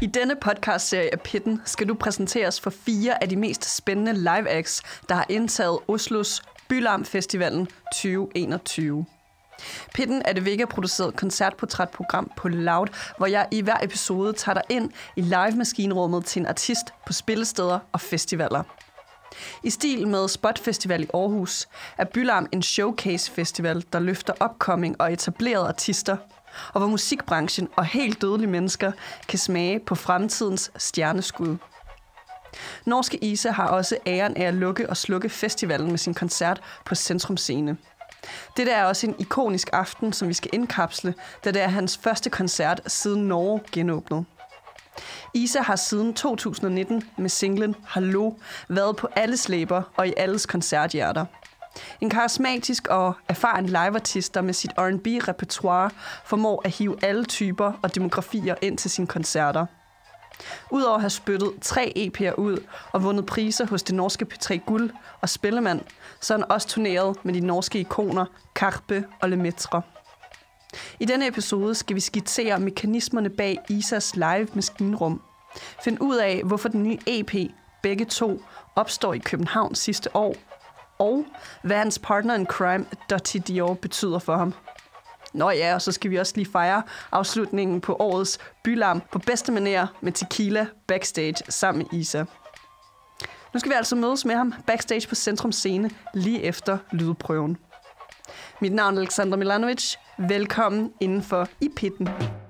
denne podcastserie af Pitten skal du præsenteres for 4 af de mest spændende live acts, der har indtaget Oslos Bylarm Festivalen 2021. Pitten er det Vega-produceret koncertportrætprogram på Loud, hvor jeg i hver episode tager dig ind i live-maskinrummet til en artist på spillesteder og festivaler. I stil med Spot Festival i Aarhus er Bylarm en showcase-festival, der løfter upcoming og etablerede artister, og hvor musikbranchen og helt dødelige mennesker kan smage på fremtidens stjerneskud. Norske Isa har også æren af at lukke og slukke festivalen med sin koncert på Centrum Scene. Dette er også en ikonisk aften, som vi skal indkapsle, da det er hans første koncert siden Norge genåbnede. Isa har siden 2019 med singlen Hallo været på alles læber og i alles koncerthjerter. En karismatisk og erfaren liveartist, der med sit R&B-repertoire formår at hive alle typer og demografier ind til sine koncerter. Udover at have spyttet 3 EP'er ud og vundet priser hos det norske P3 Guld og Spillemand, så er han også turneret med de norske ikoner Karpe og Lemaitre. I denne episode skal vi skitsere mekanismerne bag Isas live maskinrum. Find ud af, hvorfor den nye EP, begge to, opstår i København sidste år. Og hvad hans partner in crime, Dottie Dior, betyder for ham. Nå ja, og så skal vi også lige fejre afslutningen på årets Bylarm på bedste manér med tequila backstage sammen med Isa. Nu skal vi altså mødes med ham backstage på Centrum Scene lige efter lydprøven. Mit navn er Alexandra Milanovic. Velkommen indenfor i Pitten.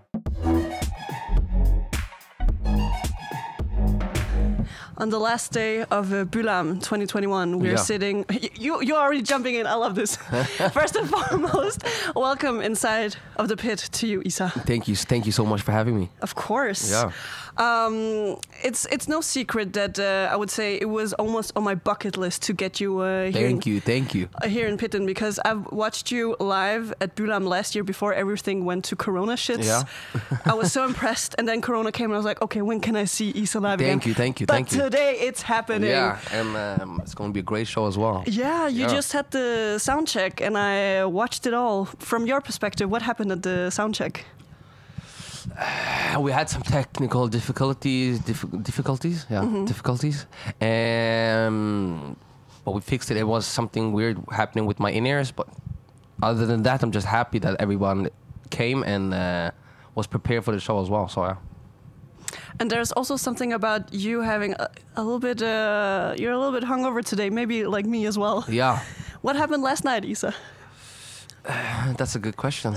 On the last day of Bylarm 2021, we're sitting... You're already jumping in. I love this. First and foremost, welcome inside of the pit to you, Isa. Thank you so much for having me. Of course. Yeah. It's no secret that I would say it was almost on my bucket list to get you here. Thank you. Here in Pitten, because I've watched you live at Bylarm last year before everything went to Corona shits. Yeah. I was so impressed, and then Corona came, and I was like, okay, when can I see Isa live again? Thank you. But today it's happening. Yeah, and it's going to be a great show as well. Yeah, you just had the sound check, and I watched it all. From your perspective, what happened at the sound check? We had some technical difficulties. But we fixed it. It was something weird happening with my in-ears, but other than that, I'm just happy that everyone came and was prepared for the show as well. So yeah. And there's also something about you having a little bit. You're a little bit hungover today, maybe like me as well. Yeah. What happened last night, Isa? That's a good question.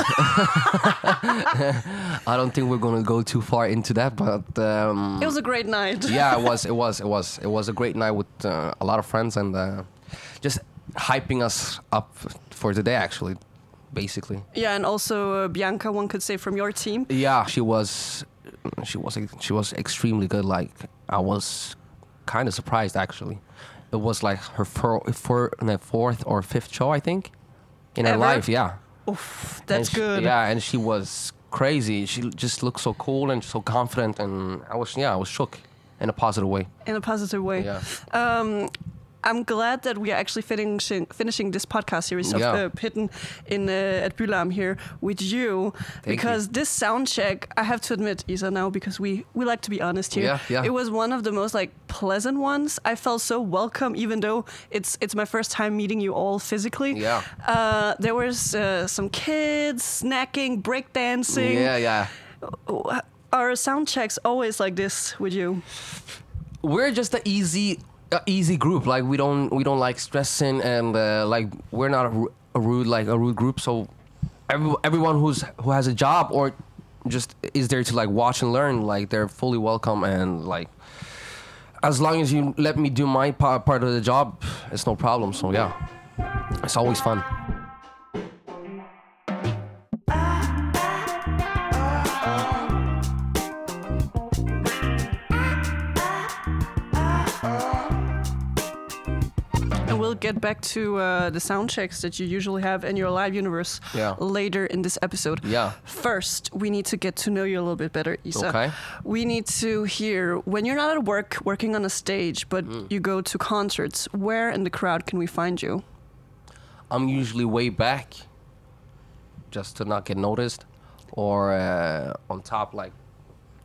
I don't think we're going to go too far into that, but it was a great night. Yeah, it was a great night with a lot of friends and just hyping us up for today, actually, basically. Yeah, and also Bianca, one could say, from your team. Yeah, she was extremely good. Like, I was kind of surprised, actually. It was like her fourth or fifth show, I think. In her life, yeah. Oof, that's good. Yeah, and she was crazy. She just looked so cool and so confident, and I was shook in a positive way. In a positive way. Yeah. I'm glad that we are actually finishing this podcast series of Pitten in at Bylarm here with you. Because this sound check, I have to admit, Isa, now, because we like to be honest here. Yeah. It was one of the most pleasant ones. I felt so welcome, even though it's my first time meeting you all physically. Yeah. There was some kids snacking, breakdancing. Yeah. Are sound checks always like this with you? We're just an easy group. Like we don't like stressing, and like we're not a rude group. So everyone who has a job or just is there to watch and learn, they're fully welcome, and as long as you let me do my part of the job, it's no problem. So yeah, it's always fun. Get back to the sound checks that you usually have in your live universe later in this episode. Yeah. First, we need to get to know you a little bit better, Isa. Okay. We need to hear, when you're not at work working on a stage, but you go to concerts, where in the crowd can we find you? I'm usually way back, just to not get noticed, or on top,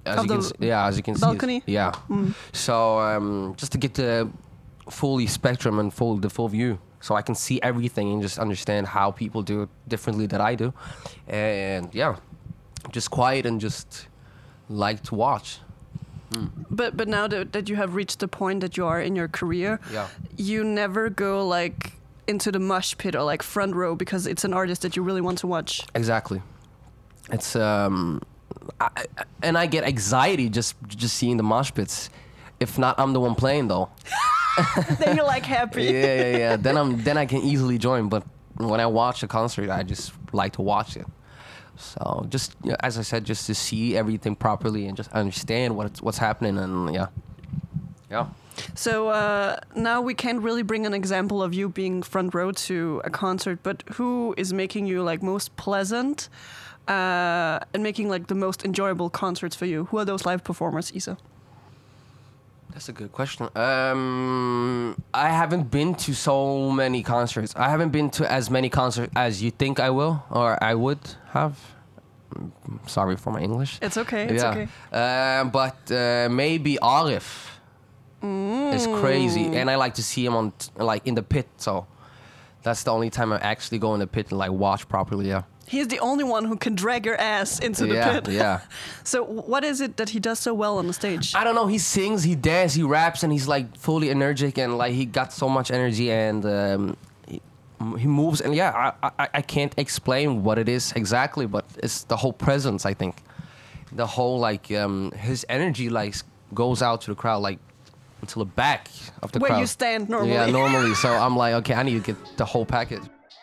as you can as you can balcony? see. Yeah. So just to get the full spectrum and the full view, so I can see everything and just understand how people do it differently than I do, and just quiet and just like to watch. But now that you have reached the point that you are in your career, you never go like into the mosh pit or like front row because it's an artist that you really want to watch. Exactly. It's and I get anxiety just seeing the mosh pits. If not, I'm the one playing though. Then you're like happy. Yeah. Then I can easily join. But when I watch a concert, I just like to watch it. So just as I said, just to see everything properly and just understand what's happening, and yeah. So now we can't really bring an example of you being front row to a concert, but who is making you like most pleasant and making like the most enjoyable concerts for you? Who are those live performers, Isa? That's a good question. I haven't been to so many concerts. I haven't been to as many concerts as you think I will or I would have. Sorry for my English. It's okay. It's okay. But maybe Arif is crazy, and I like to see him on in the pit. So that's the only time I actually go in the pit and like watch properly. Yeah. He's the only one who can drag your ass into the pit. Yeah. So what is it that he does so well on the stage? I don't know. He sings, he dances, he raps, and he's like fully energetic, and like he got so much energy, and he moves. And I can't explain what it is exactly, but it's the whole presence. I think the whole like his energy like goes out to the crowd like until the back of the crowd. Where you stand normally. Yeah, normally. So I'm like, okay, I need to get the whole package.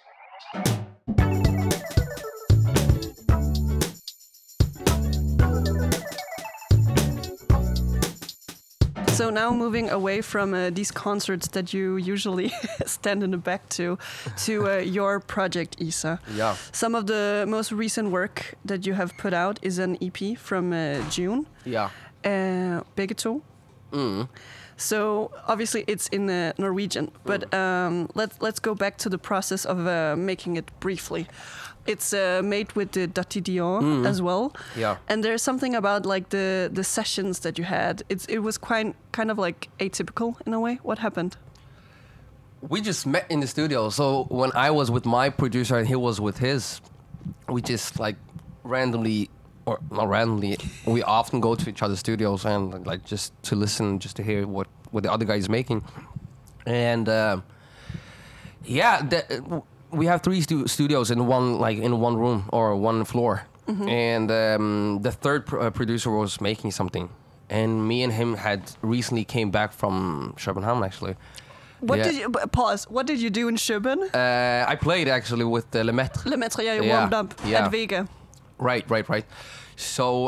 So now moving away from these concerts that you usually stand in the back to your project, Isa. Yeah. Some of the most recent work that you have put out is an EP from June. Yeah. Begge to. So obviously it's in Norwegian, but let's go back to the process of making it briefly. It's made with the Dutty Dior as well. Yeah. And there's something about like the sessions that you had. It was kind of like atypical in a way. What happened? We just met in the studio. So when I was with my producer and he was with his, we just like randomly, or not randomly, we often go to each other's studios and like just to listen, just to hear what the other guy is making. And we have 3 studios in one room or one floor. And the third producer was making something, and me and him had recently came back from København actually. What did you do in København? I played actually with Lemaitre. Lemaitre, yeah, you warmed up at Vega. Right. So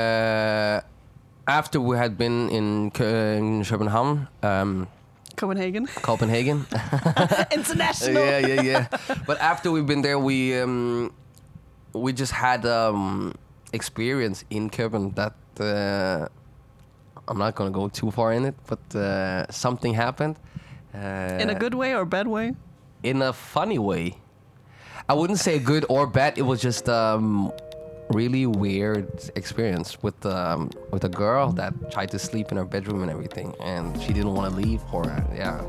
after we had been in København, Copenhagen. International. Yeah. But after we've been there, we just had experience in Copenhagen that I'm not gonna go too far in it, but something happened. In a good way or bad way? In a funny way. I wouldn't say good or bad. It was just really weird experience with a girl that tried to sleep in her bedroom and everything, and she didn't want to leave for it. Yeah.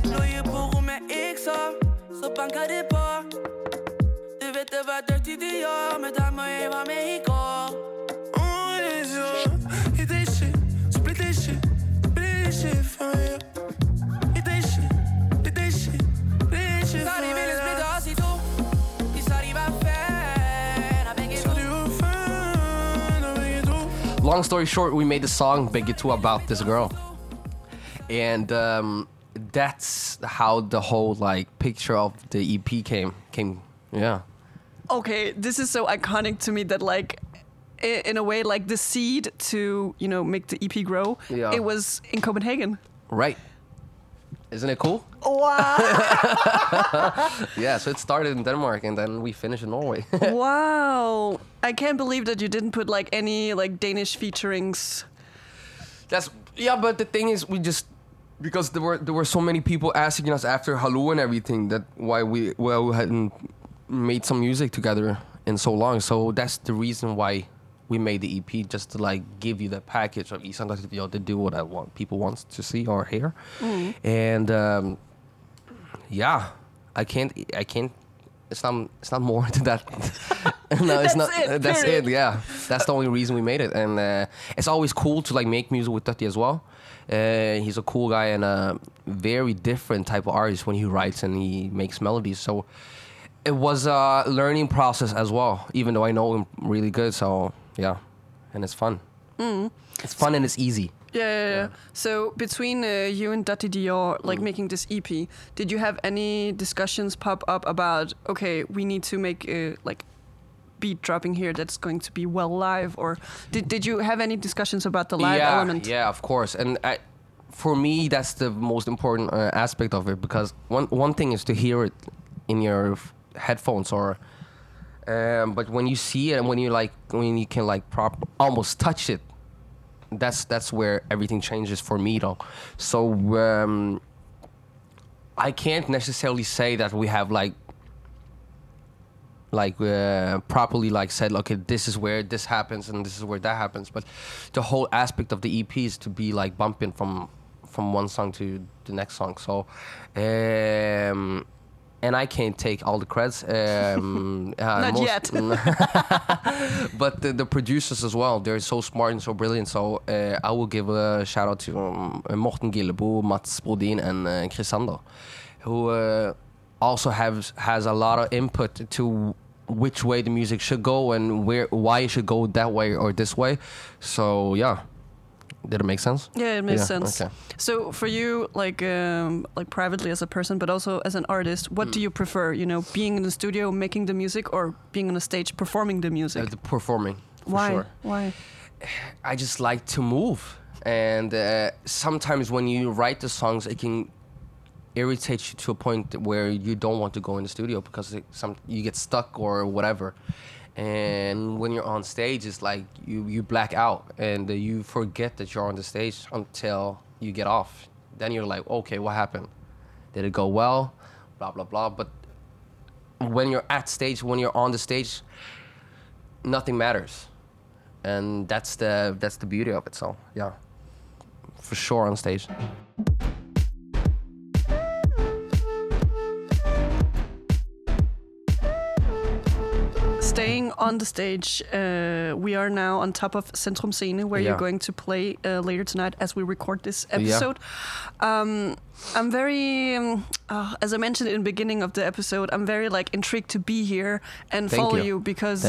Long story short, we made the song Begge to about this girl, and that's how the whole like picture of the EP came. Yeah. Okay, this is so iconic to me that like in a way like the seed to make the EP grow. Yeah. It was in Copenhagen. Right. Isn't it cool? Wow. Yeah, so it started in Denmark and then we finished in Norway. Wow. I can't believe that you didn't put like any like Danish featurings. But the thing is because there were so many people asking us after Hallo and everything that why we hadn't made some music together in so long. So that's the reason why we made the EP just to like give you the package of to do what I want people want to see or hear, and yeah, I can't. It's not more to that. No, it's not. That's it. Yeah, that's the only reason we made it, and it's always cool to like make music with Dutty as well. He's a cool guy and a very different type of artist when he writes and he makes melodies. So it was a learning process as well, even though I know him really good. So yeah, and it's fun. It's fun and it's easy. Yeah. So between you and Dutty Dior, like making this EP, did you have any discussions pop up about, okay, we need to make like beat dropping here that's going to be well live, or did you have any discussions about the live element? Yeah, of course. And for me, that's the most important aspect of it, because one thing is to hear it in your headphones, or but when you see it and when you can like almost touch it, that's where everything changes for me though. So I can't necessarily say that we have properly like said, okay, this is where this happens and this is where that happens, but the whole aspect of the EP is to be like bumping from one song to the next song. So and I can't take all the creds. Not yet. But the producers as well, they're so smart and so brilliant. So I will give a shout out to Morten Gillebo, Mats Brodin, and Chris Sander, who also has a lot of input to which way the music should go and why it should go that way or this way. So yeah. Did it make sense? Yeah, it makes sense. Okay. So for you, like privately as a person, but also as an artist, what do you prefer? You know, being in the studio making the music, or being on a stage performing the music? The performing. Why? For sure. Why? I just like to move, and sometimes when you write the songs, it can irritate you to a point where you don't want to go in the studio because you get stuck or whatever. And when you're on stage, it's like you black out and you forget that you're on the stage until you get off. Then you're like, okay, what happened? Did it go well? Blah, blah, blah. But when you're on the stage, nothing matters. And that's the beauty of it. So, yeah, for sure on stage. Staying on the stage, we are now on top of Centrum Scene, where you're going to play later tonight as we record this episode. Yeah. I'm very, as I mentioned in the beginning of the episode, I'm very like intrigued to be here and follow you because,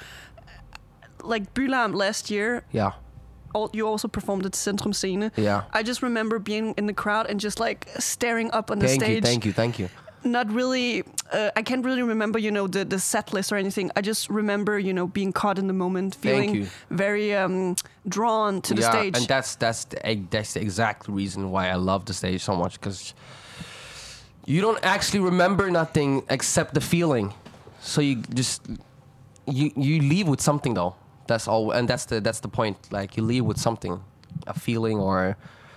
like Bylarm last year. Yeah. You also performed at Centrum Scene. Yeah. I just remember being in the crowd and just like staring up on the stage. Thank you. Not really, I can't really remember, you know, the set list or anything. I just remember, you know, being caught in the moment, feeling very drawn to the stage. And that's the exact reason why I love the stage so much, because you don't actually remember nothing except the feeling. So you just you leave with something though. That's all, and that's the point. Like you leave with something, a feeling or.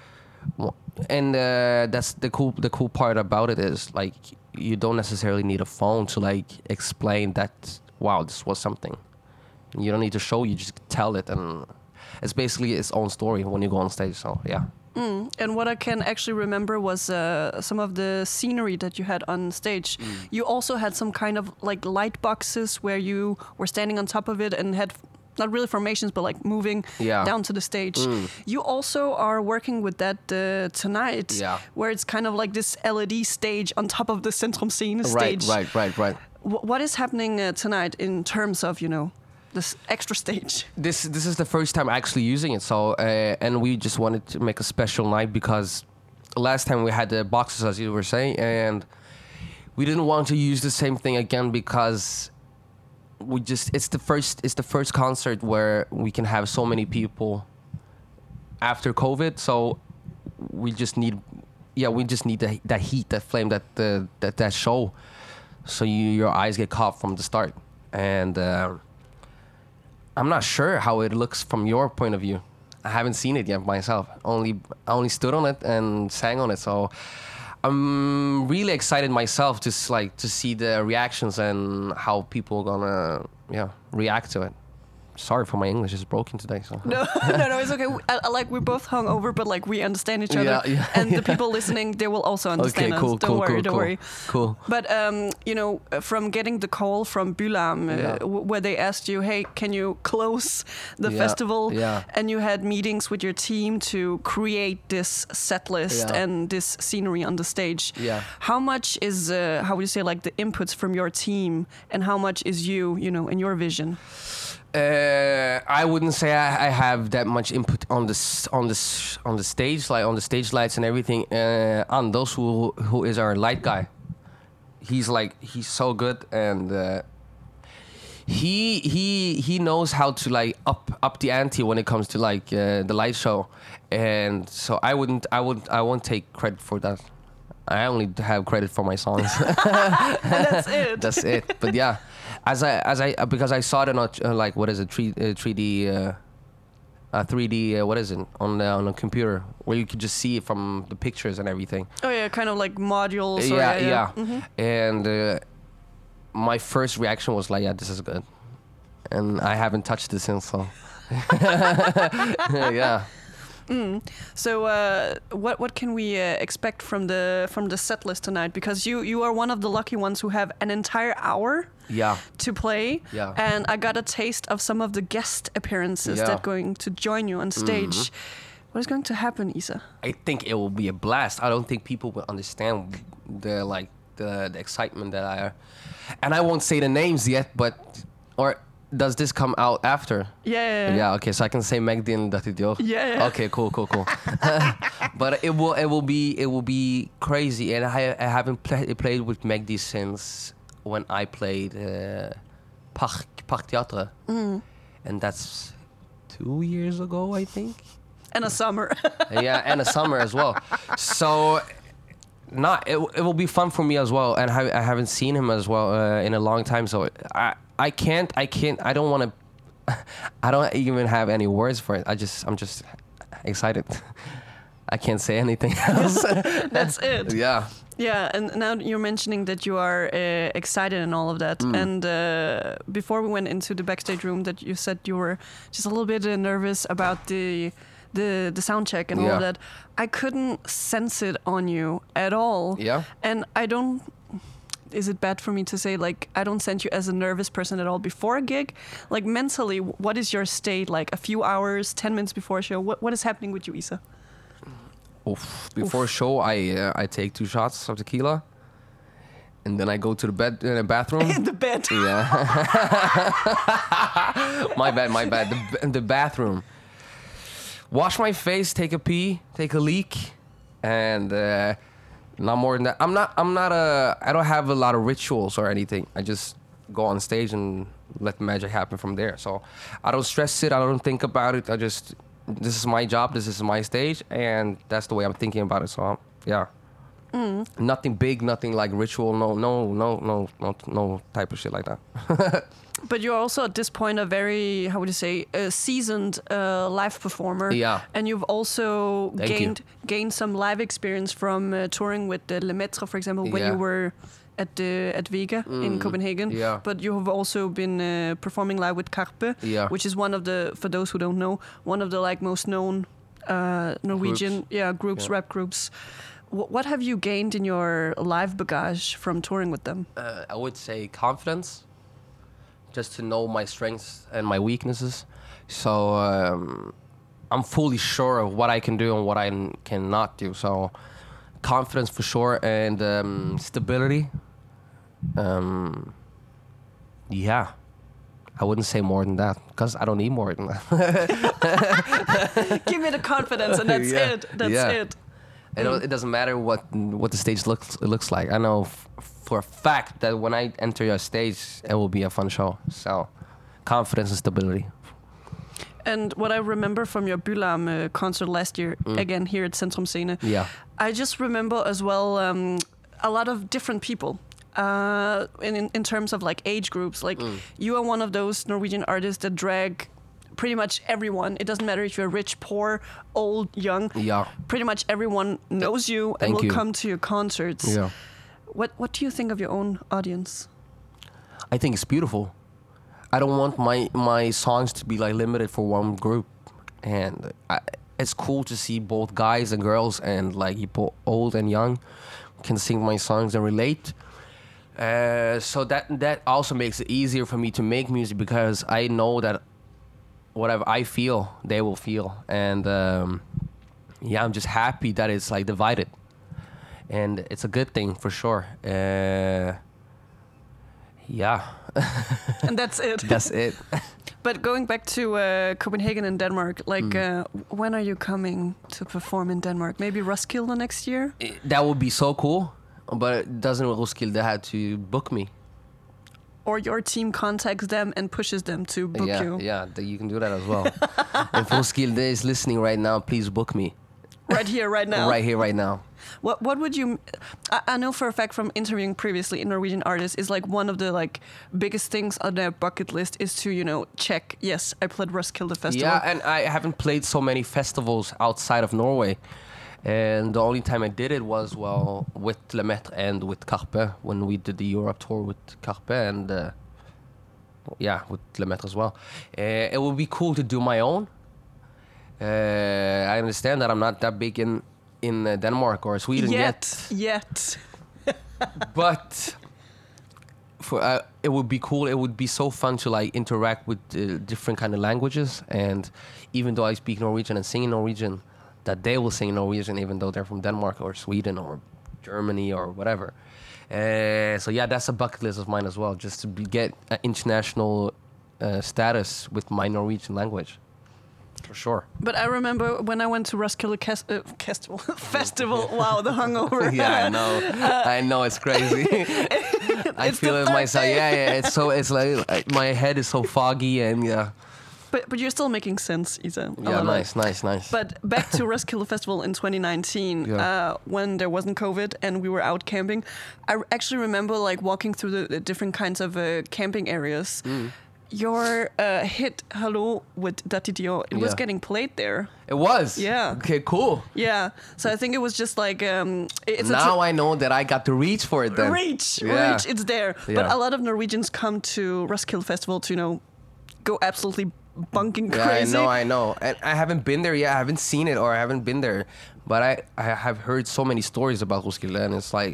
And that's the cool part about it is like you don't necessarily need a phone to like explain that, wow, this was something. You don't need to show, you just tell it, and it's basically its own story when you go on stage. So yeah. And what I can actually remember was some of the scenery that you had on stage. You also had some kind of like light boxes where you were standing on top of it and had not really formations, but like moving down to the stage. You also are working with that tonight, where it's kind of like this LED stage on top of the Centrum Scene stage. Right. What is happening tonight in terms of, you know, this extra stage? This is the first time actually using it. So and we just wanted to make a special night because last time we had the boxes, as you were saying, and we didn't want to use the same thing again because it's the first concert where we can have so many people after COVID. So we just need that heat, that flame, that show. So your eyes get caught from the start. And I'm not sure how it looks from your point of view. I haven't seen it yet myself. I only stood on it and sang on it. So I'm really excited myself to see the reactions and how people are gonna react to it. sorry for my English is broken today. So No, no, it's okay. Like we're both hungover, but like we understand each other, Yeah. and the people listening, they will also understand Okay, us. cool, Don't cool, worry, cool, don't cool. worry. Cool. But you know, from getting the call from Bylarm, where they asked you, "Hey, can you close the festival?" Yeah. And you had meetings with your team to create this set list and this scenery on the stage. Yeah. How much is how would you say, like, the inputs from your team, and how much is you know, in your vision? I wouldn't say I have that much input on the stage, like on the stage lights and everything. Anders, who is our light guy, he's so good, and he knows how to like up the ante when it comes to like the light show, and so I won't take credit for that. I only have credit for my songs. That's it. That's it. But yeah, because I saw it on like what is it, 3D what is it on a computer where you could just see it from the pictures and everything. Oh yeah, kind of like modules. Yeah. Mm-hmm. And my first reaction was like, yeah, this is good, and I haven't touched it since. So yeah. So what can we expect from the set list tonight? Because you are one of the lucky ones who have an entire hour to play. Yeah. And I got a taste of some of the guest appearances that are going to join you on stage. What is going to happen, Isa? I think it will be a blast. I don't think people will understand the excitement that I are. And I won't say the names yet, or does this come out after? Yeah. Okay, so I can say Megdin Datidio. Yeah. Okay, cool. But it will be crazy, and I haven't played with Megdi since when I played Park Theatre, and that's 2 years ago, I think. And a summer. Yeah, and a summer as well. So, it will be fun for me as well, and I haven't seen him as well in a long time. So I can't. I don't want to. I don't even have any words for it. I'm just excited. I can't say anything else. That's it. Yeah. Yeah, and now you're mentioning that you are excited and all of that. And before we went into the backstage room, that you said you were just a little bit nervous about the sound check and all of that. I couldn't sense it on you at all. Yeah. And I don't. Is it bad for me to say, like, I don't sense you as a nervous person at all before a gig? Like, mentally, what is your state? Like, a few hours, 10 minutes before a show? What is happening with you, Isa? Before a show, I take 2 shots of tequila, and then I go to the bathroom. In the bed. Yeah. My bad. The bathroom. Wash my face, take a pee, take a leak, and not more than that. I don't have a lot of rituals or anything. I just go on stage and let the magic happen from there. So I don't stress it. I don't think about it. This is my job. This is my stage, and that's the way I'm thinking about it. So yeah. Nothing big, nothing like ritual. No type of shit like that. But you're also at this point a very, how would you say, a seasoned live performer. Yeah. And you've also Thank gained some live experience from touring with the Lemaitre, for example, when you were at Vega in Copenhagen. Yeah. But you have also been performing live with Carpe, which is one of the, for those who don't know, one of the like most known Norwegian groups, rap groups. What have you gained in your live bagage from touring with them? I would say confidence, just to know my strengths and my weaknesses. So I'm fully sure of what I can do and what I cannot do. So confidence for sure, and stability. Yeah. I wouldn't say more than that, because I don't need more than that. Give me the confidence, and that's it. That's it. It doesn't matter what the stage looks like. I know for a fact that when I enter your stage, it will be a fun show. So, confidence and stability. And what I remember from your Bylarm concert last year, again here at Centrum Scene, I just remember as well a lot of different people. In terms of like age groups, like you are one of those Norwegian artists that drag pretty much everyone. It doesn't matter if you're rich, poor, old, young. Yeah. Pretty much everyone knows you and will come to your concerts. Yeah. What do you think of your own audience? I think it's beautiful. I don't want my songs to be like limited for one group, and it's cool to see both guys and girls and like people old and young can sing my songs and relate. So that also makes it easier for me to make music, because I know that whatever I feel, they will feel. And I'm just happy that it's like divided, and it's a good thing for sure. And that's it. That's it. But going back to Copenhagen and Denmark, like when are you coming to perform in Denmark? Maybe Roskilde next year? That would be so cool, but doesn't Roskilde have to book me? Or your team contacts them and pushes them to book you? Yeah, you can do that as well. If Roskilde is listening right now, please book me. Right here, right now? Right here, right now. What would you... I know for a fact from interviewing previously in Norwegian artists, is like one of the like biggest things on their bucket list is to, check, yes, I played Roskilde Festival. Yeah, and I haven't played so many festivals outside of Norway. And the only time I did it was, with Lemaitre and with Carpe, when we did the Europe tour with Carpe and, with Lemaitre as well. It would be cool to do my own. I understand that I'm not that big in Denmark or Sweden yet. But it would be cool. It would be so fun to like interact with different kind of languages. And even though I speak Norwegian and sing in Norwegian, that they will sing in Norwegian, even though they're from Denmark or Sweden or Germany or whatever. That's a bucket list of mine as well, just to get an international status with my Norwegian language. For sure. But I remember when I went to Roskilde Festival. Wow, the hungover. Yeah, I know. I know, it's crazy. I feel it myself. Yeah. It's like my head is so foggy and yeah. But you're still making sense, Isa. Yeah, nice. But back to Roskilde Festival in 2019, when there wasn't COVID and we were out camping, I actually remember like walking through the different kinds of camping areas. Your hit "Hello" with Dati Dior, it was getting played there. It was? Yeah. Okay, cool. Yeah. So I think it was just like... I know that I got to reach for it then. Reach, it's there. Yeah. But a lot of Norwegians come to Roskilde Festival to, go absolutely bunking crazy. Yeah, I know. And I haven't been there yet. I haven't seen it or I haven't been there. But I have heard so many stories about Roskilde, and it's like,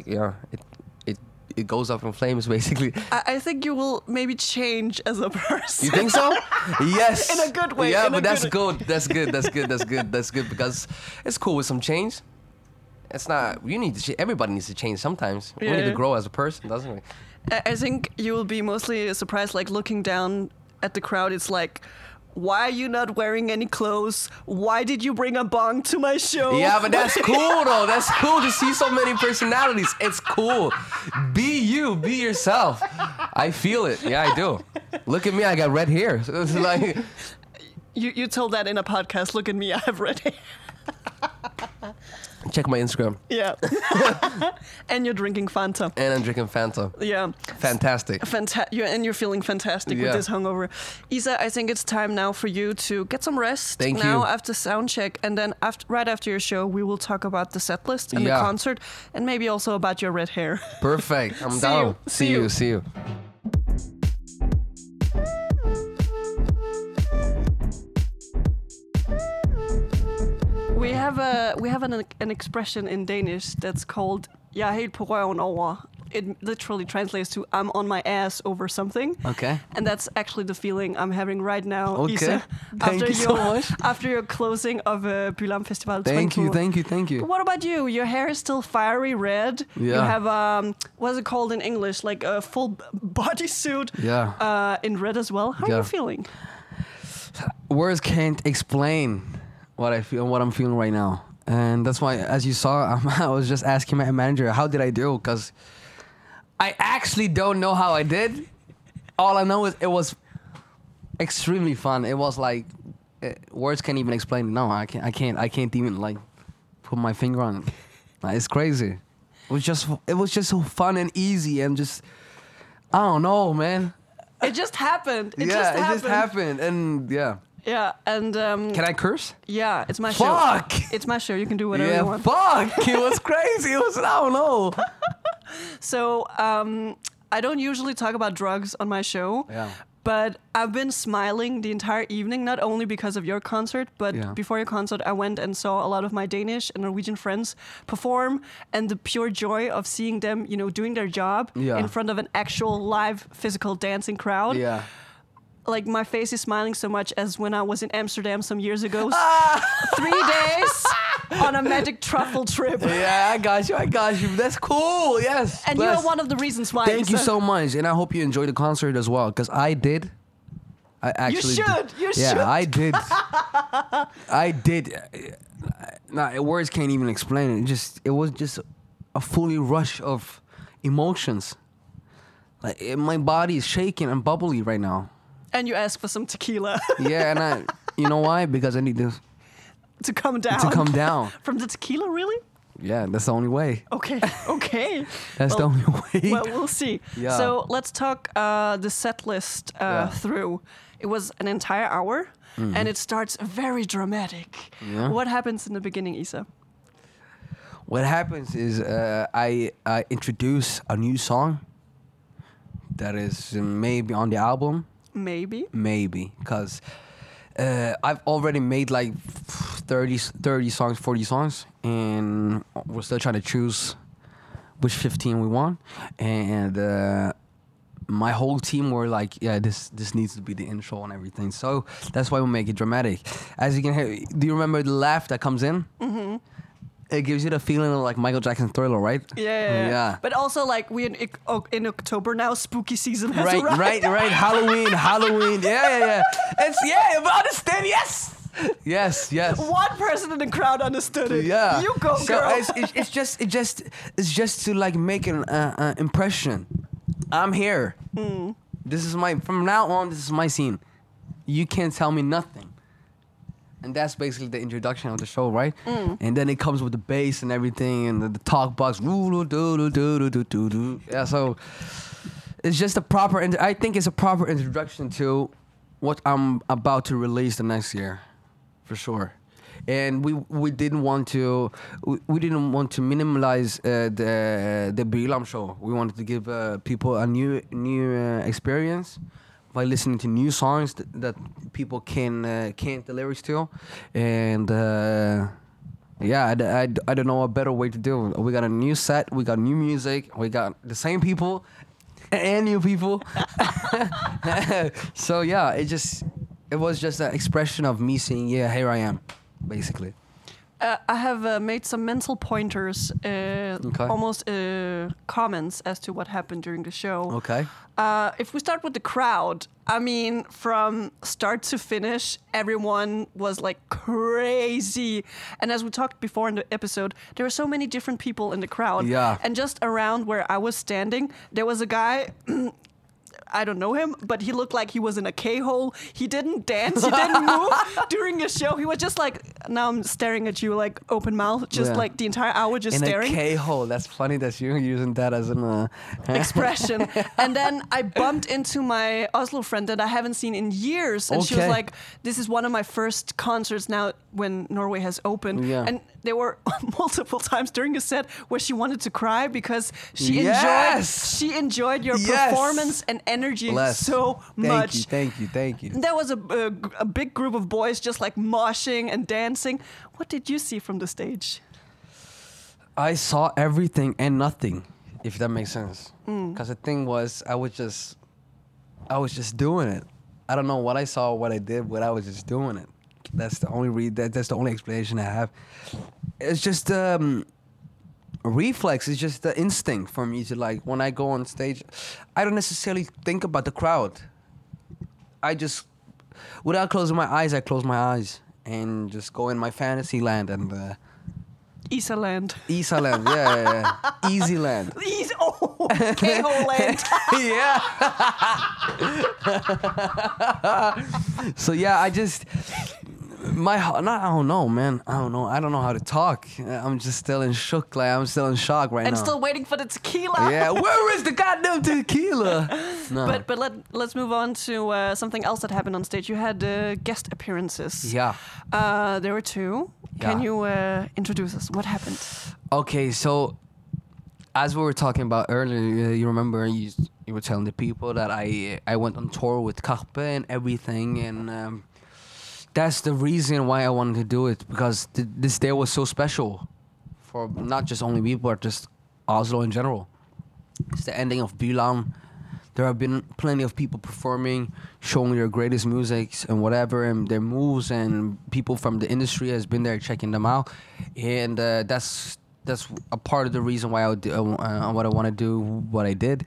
it goes up in flames, basically. I think you will maybe change as a person. You think so? Yes. In a good way. Yeah, but that's good. That's good because it's cool with some change. It's not. Everybody needs to change sometimes. We need to grow as a person, doesn't we? I think you will be mostly surprised, like looking down at the crowd. It's like, why are you not wearing any clothes? Why did you bring a bong to my show? Yeah, but that's cool though. That's cool to see so many personalities. It's cool. Be you. Be yourself. I feel it. Yeah, I do. Look at me. I got red hair. So it's like... You told that in a podcast. Look at me. I have red hair. Check my Instagram. Yeah. And you're drinking Fanta. And I'm drinking Fanta. Yeah. Fantastic. And you're feeling fantastic with this hungover. Isa, I think it's time now for you to get some rest. Thank you. Now after sound check. And then right after your show, we will talk about the set list and the concert. And maybe also about your red hair. Perfect. I'm down. See you. We have an expression in Danish that's called "Jeg er helt på røven over." It literally translates to "I'm on my ass over something." Okay. And that's actually the feeling I'm having right now, okay. Isa. Thank you so much. After your closing of Bylarm Festival. Thank you. But what about you? Your hair is still fiery red. Yeah. You have what's it called in English? Like a full bodysuit. Yeah. In red as well. How are you feeling? Words can't explain what I feel, what I'm feeling right now, and that's why, as you saw, I was just asking my manager, how did I do? Because I actually don't know how I did. All I know is it was extremely fun. It was like words can't even explain it. No, I can't even like put my finger on it. It's crazy. It was just so fun and easy and just, I don't know, man. It just happened. It just happened, and yeah. Yeah, and can I curse? Yeah, it's my show. Fuck! It's my show. You can do whatever you want. Fuck! It was crazy. It was, I don't know. So I don't usually talk about drugs on my show. Yeah. But I've been smiling the entire evening, not only because of your concert, but before your concert, I went and saw a lot of my Danish and Norwegian friends perform, and the pure joy of seeing them, doing their job in front of an actual live physical dancing crowd. Yeah. Like, my face is smiling so much as when I was in Amsterdam some years ago. 3 days on a magic truffle trip. Yeah, I got you. That's cool. Yes. And you're one of the reasons why. Thank you so much. And I hope you enjoyed the concert as well, because I did. I actually You should. Yeah, I did. I did. Nah, words can't even explain it. It was just a fully rush of emotions. Like, my body is shaking and bubbly right now. And you ask for some tequila. Yeah, and you know why? Because I need to come down. To come down. From the tequila, really? Yeah, that's the only way. Okay. That's the only way. Well, we'll see. Yeah. So let's talk the set list through. It was an entire hour, and it starts very dramatic. Yeah. What happens in the beginning, Isa? What happens is I introduce a new song that is maybe on the album. Maybe, because I've already made like 30 songs, 40 songs, and we're still trying to choose which 15 we want. And my whole team were like, yeah, this needs to be the intro and everything. So that's why we make it dramatic. As you can hear, do you remember the laugh that comes in? Mm-hmm. It gives you the feeling of like Michael Jackson's Thriller, right? Yeah. But also, like, we're in October now. Spooky season has arrived. Right. Halloween. Yeah. But understand, yes. One person in the crowd understood it. Yeah. You go, girl. It's just to like make an impression. I'm here. This is from now on. This is my scene. You can't tell me nothing. And that's basically the introduction of the show, right? And then it comes with the bass and everything, and the talk box. Yeah, so it's just a proper. I think it's a proper introduction to what I'm about to release the next year, for sure. And we didn't want to minimize the Bylarm show. We wanted to give people a new experience by listening to new songs that people can't the lyrics to, and I don't know a better way to do it. We got a new set, we got new music, we got the same people and new people. So yeah, it was just an expression of me saying, yeah, here I am, basically. I have made some mental pointers, almost comments as to what happened during the show. Okay. If we start with the crowd, I mean, from start to finish, everyone was like crazy. And as we talked before in the episode, there were so many different people in the crowd. Yeah. And just around where I was standing, there was a guy... I don't know him, but he looked like he was in a K-hole. He didn't dance. He didn't move during the show. He was just like, now I'm staring at you like open mouth, just like the entire hour just staring. In a K-hole. That's funny that you're using that as an... expression. And then I bumped into my Oslo friend that I haven't seen in years. And she was like, this is one of my first concerts now when Norway has opened. Yeah. And there were multiple times during the set where she wanted to cry because she enjoyed your performance and energy so much. Thank you. There was a big group of boys just like moshing and dancing. What did you see from the stage? I saw everything and nothing, if that makes sense. Because the thing was, I was just doing it. I don't know what I saw, what I did, but I was just doing it. That's the only that's the only explanation I have. It's just a reflex. It's just the instinct for me to, like, when I go on stage, I don't necessarily think about the crowd. I just, without closing my eyes, I close my eyes and just go in my fantasy land and. Isaland, yeah. Easy land. K-hole land. Yeah. So yeah, I just I don't know, man. I don't know how to talk. I'm just still in shock. Like, I'm still in shock right now. And still waiting for the tequila. Yeah, where is the goddamn tequila? No. But let's move on to something else that happened on stage. You had guest appearances. Yeah. There were 2. Yeah. Can you introduce us? What happened? Okay, so as we were talking about earlier, you remember you you were telling the people that I went on tour with Karpe and everything, and that's the reason why I wanted to do it, because this day was so special for not just only me, but just Oslo in general. It's the ending of Bylarm. There have been plenty of people performing, showing their greatest musics and whatever, and their moves, and people from the industry has been there checking them out, and that's a part of the reason why what I want to do, what I did.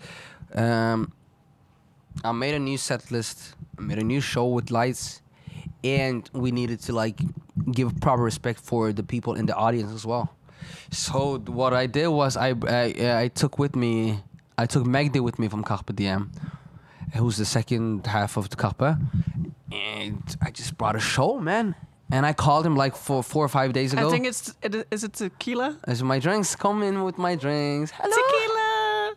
I made a new set list, I made a new show with lights, and we needed to like give proper respect for the people in the audience as well. So what I did was I took Magdi with me from Carpe Diem, who's the second half of the Carpe, and I just brought a show, man. And I called him like 4 or 5 days ago. I think is it tequila? As my drinks, come in with my drinks. Hello. Tequila.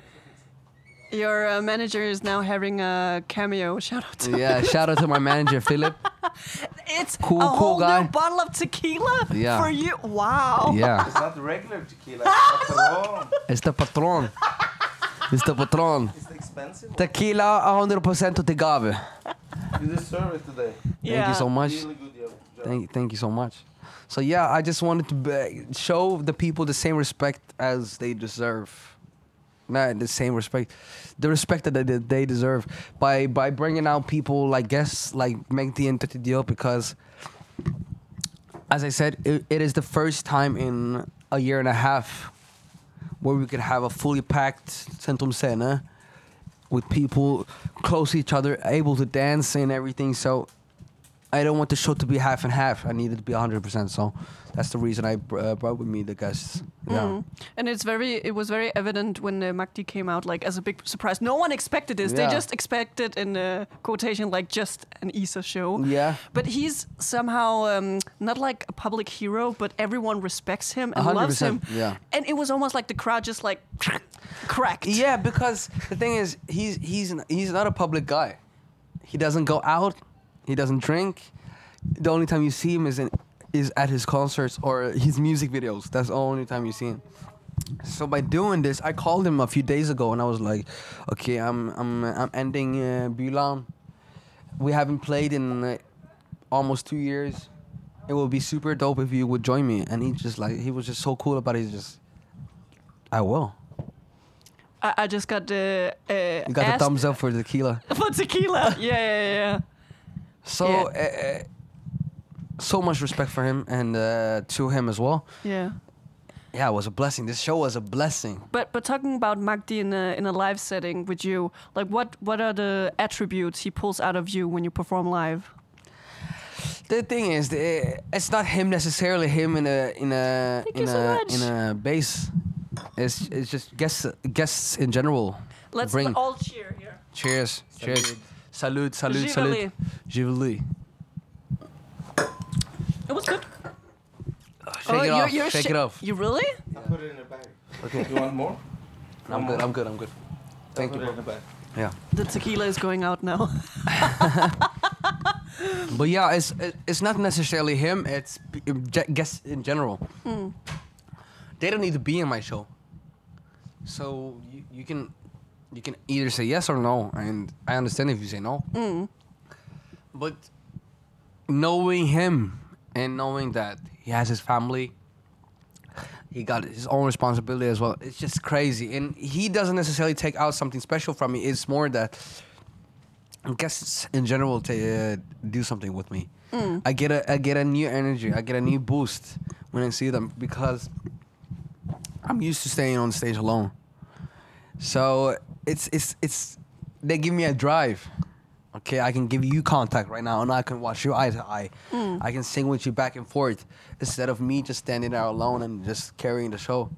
Your manager is now having a cameo. Shout out to Yeah, shout out to my manager Philip. It's Cool- a cool whole guy. new bottle of tequila Yeah. for you. Wow. Yeah, It's not the regular tequila. It's Patron. it's the patron. It's the patron. It's the expensive one. Tequila 100% agave. You deserve it today. Yeah. Thank you so much. Really good job. Thank you so much. So yeah, I just wanted to show the people the same respect as they deserve. Not the same respect, the respect that they deserve by bringing out people like guests like Megdi and Tatidio, because as I said, it is the first time in a year and a half where we could have a fully packed Centrum Scene with people close to each other, able to dance and everything. So I don't want the show to be half and half. I need it to be 100%. So that's the reason I brought with me the guests. Yeah. And it was very evident when Magdi came out, like as a big surprise. No one expected this. Yeah. They just expected, in quotation, like just an Isa show. Yeah. But he's somehow not like a public hero, but everyone respects him and loves him. Yeah. And it was almost like the crowd just like cracked. Yeah, because the thing is, he's not a public guy. He doesn't go out. He doesn't drink. The only time you see him is at his concerts or his music videos. That's the only time you see him. So by doing this, I called him a few days ago and I was like, okay, I'm ending Bylarm. We haven't played in almost 2 years. It would be super dope if you would join me. And he was just so cool about it. He's just, I will. I just got the You got the thumbs up for the tequila. for tequila. Yeah. So, so much respect for him and to him as well. Yeah. Yeah, it was a blessing. This show was a blessing. But talking about Magdi in a live setting with you, like what are the attributes he pulls out of you when you perform live? The thing is, it's not him necessarily. Him in a bass. It's just guests in general. Let's Bring. all cheer here. Cheers. Cheers. Salute. Giveli. Salute. Giveli. It was good. Shake it off. Shake it off. You really? I put it in the bag. Okay. You want more? I'm good. Thank Put you. it in the bag. Yeah. The tequila is going out now. But yeah, it's not necessarily him. It's guests in general. They don't need to be in my show. So you can either say yes or no, and I understand if you say no. But knowing him and knowing that he has his family, he got his own responsibility as well. It's just crazy, and he doesn't necessarily take out something special from me. It's more that guests in general do something with me. I get a new energy. I get a new boost when I see them because I'm used to staying on stage alone. So it's they give me a drive. Okay, I can give you contact right now, and I can watch you eye to eye. I can sing with you back and forth instead of me just standing there alone and just carrying the show.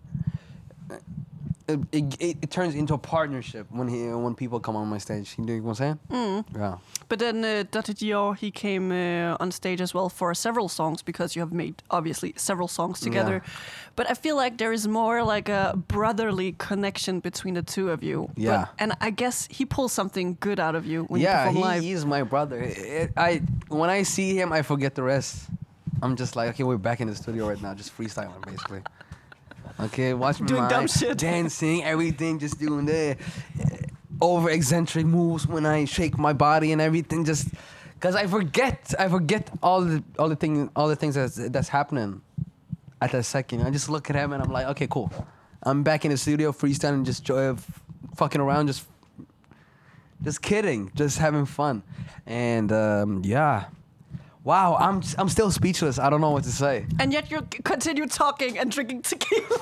It turns into a partnership when people come on my stage. You know what I'm saying? Yeah. But then Dr. Dior, he came on stage as well for several songs because you have made, obviously, several songs together. Yeah. But I feel like there is more like a brotherly connection between the two of you. Yeah. And I guess he pulls something good out of you when you perform live. He is my brother. When I see him, I forget the rest. I'm just like, okay, we're back in the studio right now, just freestyling, basically. Okay, watch me Doing dumb shit. dancing, everything, just doing that. over eccentric moves when I shake my body and everything. Just because I forget all the things that's happening at that second. I just look at him and I'm like, okay, cool. I'm back in the studio freestyling, just fucking around, just kidding, just having fun, and yeah. Wow, I'm still speechless. I don't know what to say. And yet you continue talking and drinking tequila.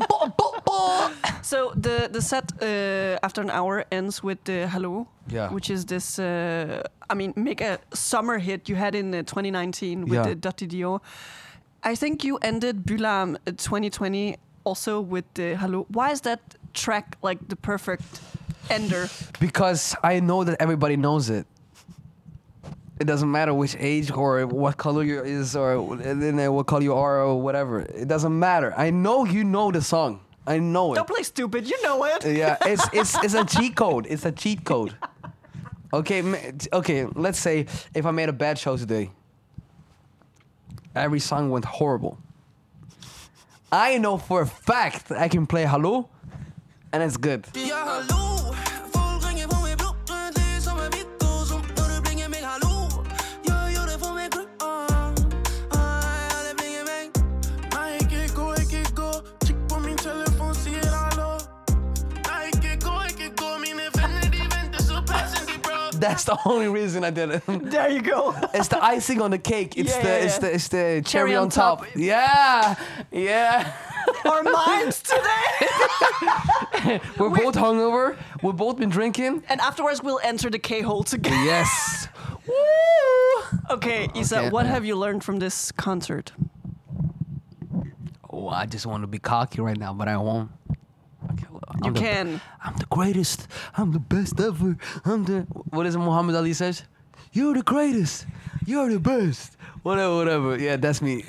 So the set after an hour ends with Hello, which is this, mega summer hit you had in 2019 with Dottie Dio. I think you ended Bylarm 2020 also with Hello. Why is that track like the perfect ender? Because I know that everybody knows it. It doesn't matter which age or what color you is or what color you are or whatever. It doesn't matter. I know you know the song. I know it. Don't play stupid. You know it. Yeah, it's a cheat code. It's a cheat code. Okay, let's say if I made a bad show today, every song went horrible. I know for a fact I can play Hello, and it's good. That's the only reason I did it. There you go. It's the icing on the cake. It's the cherry on top. Yeah. Our minds today. We're both hungover. We've both been drinking. And afterwards we'll enter the K-hole together. Yes. Woo! Okay, Isa, what have you learned from this concert? Oh, I just want to be cocky right now, but I won't. Okay, well, I'm the greatest. I'm the best ever. What is it Muhammad Ali says? You're the greatest. You're the best. Whatever. Yeah, that's me.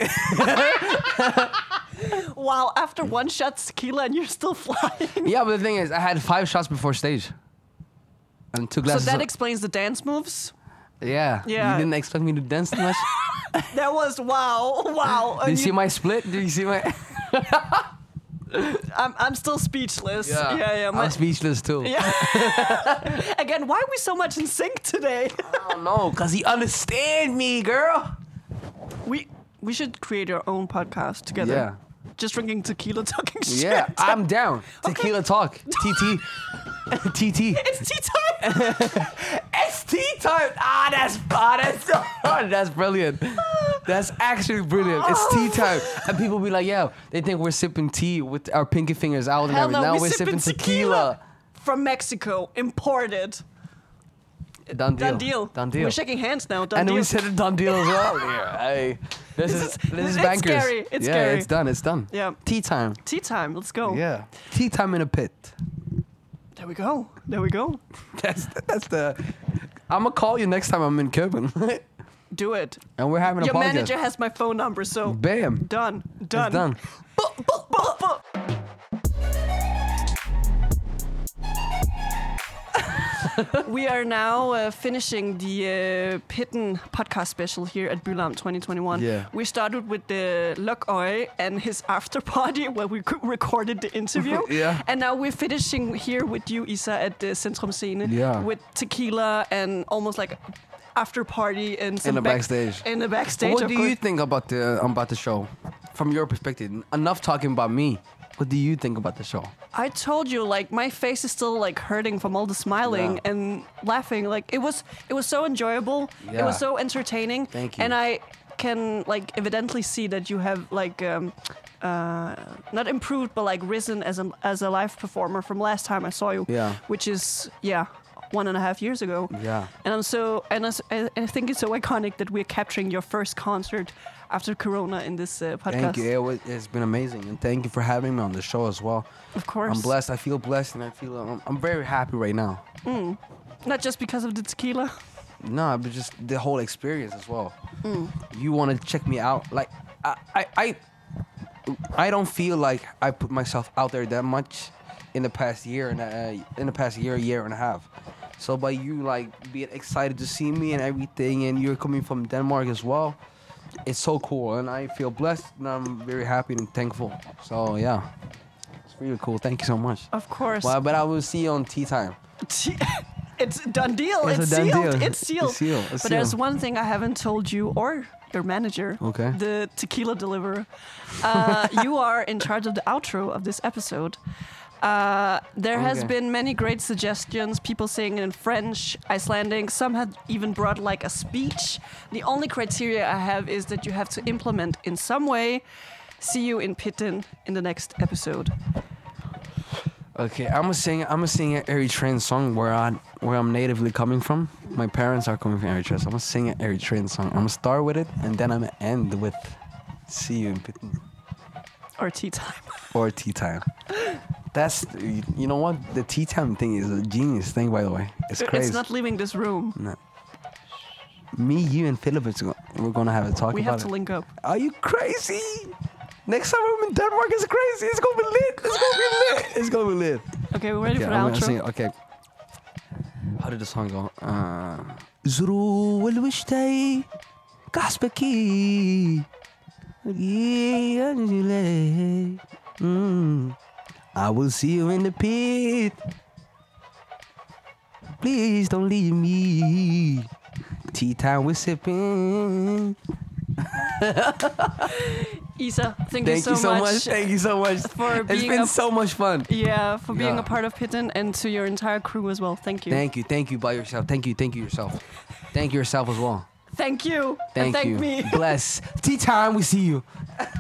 Wow, after one shot tequila and you're still flying. Yeah, but the thing is, I had 5 shots before stage. And 2 glasses. So that explains the dance moves? Yeah. You didn't expect me to dance too much? That was wow. Did you see my split? Did you see my... I'm still speechless. Yeah. I'm speechless too. Yeah. Again, why are we so much in sync today? I don't know, cause he understand me, girl. We should create our own podcast together. Yeah. Just drinking tequila, talking shit. Yeah, I'm down. Tequila talk. TT. TT. It's tea time. It's tea time. That's brilliant. That's actually brilliant. It's tea time. And people be like, yeah, they think we're sipping tea with our pinky fingers out and Hell everything. no, Now we're sipping tequila. From Mexico, imported. Done deal. We're shaking hands now. Done and deal. we said a done deal as well. Yeah, this is bankers. Scary. It's yeah, scary. It's done. Yeah. Tea time. Tea time. Let's go. Yeah. Tea time in a pit. There we go. That's the. I'm gonna call you next time I'm in Copenhagen. Do it. And we're having a Your podcast. manager has my phone number, so Bam. Done. It's done. We are now finishing the Pitten podcast special here at Bylarm 2021. Yeah. We started with the Lokøje and his after party where we recorded the interview. Yeah. And now we're finishing here with you, Isa, at the Centrum Scene. Yeah. With tequila and almost like after party and some In the backstage. In the backstage. What of do course. you think about the show? From your perspective, enough talking about me. What do you think about the show? I told you, like, my face is still like hurting from all the smiling and laughing. Like, it was so enjoyable. Yeah. It was so entertaining. Thank you. And I can like evidently see that you have like not improved, but like risen as a live performer from last time I saw you. Yeah. Which is 1.5 years ago. Yeah. And I think it's so iconic that we're capturing your first concert after Corona in this podcast. Thank you. It's been amazing, and thank you for having me on the show as well. Of course. I'm blessed. I feel blessed, and I feel I'm very happy right now. Not just because of the tequila. No, but just the whole experience as well. You want to check me out? Like I don't feel like I put myself out there that much in the past year year and a half. So by you like being excited to see me and everything, and you're coming from Denmark as well, it's so cool, and I feel blessed, and I'm very happy and thankful. So yeah. really cool. Thank you so much. Of course. Well, but I will see you on tea time. It's a done deal. It's It's, a done sealed. deal. It's sealed. It's sealed. It's But there's sealed. one thing I haven't told you or your manager. Okay. The tequila deliverer. You are in charge of the outro of this episode. There has Okay. been many great suggestions. People saying it in French, Icelandic. Some had even brought like a speech. The only criteria I have is that you have to implement in some way. See you in Pitten in the next episode. Okay, I'm gonna sing an Eritrean song where I'm natively coming from. My parents are coming from Eritrea, so I'm gonna sing an Eritrean song. I'm gonna start with it, and then I'm gonna end with "See You in Pitten" Or tea time. or "Tea Time." That's you know what, the tea time thing is a genius thing, by the way. It's crazy. It's not leaving this room. No. Me, you, and Philip, we're gonna have a talk We about have to it. link up. Are you crazy? Next time I'm in Denmark, it's crazy. It's gonna be lit. It's gonna be lit. It's gonna be lit. Okay, we're ready for the I'm gonna outro. sing it. Okay. How did the song go? Zuru الوشتي كحسبكي I will see you in the pit. Please don't leave me. Tea time we're sipping. Isa, thank Thank you so much. Thank you so much. for It's being been a- so much fun. Yeah, for being Yeah. a part of Pitten and to your entire crew as well. Thank you. Thank you by yourself. Thank you yourself. Thank you yourself as well. Thank you. Thank and thank you. me. Bless. Tea time, we see you.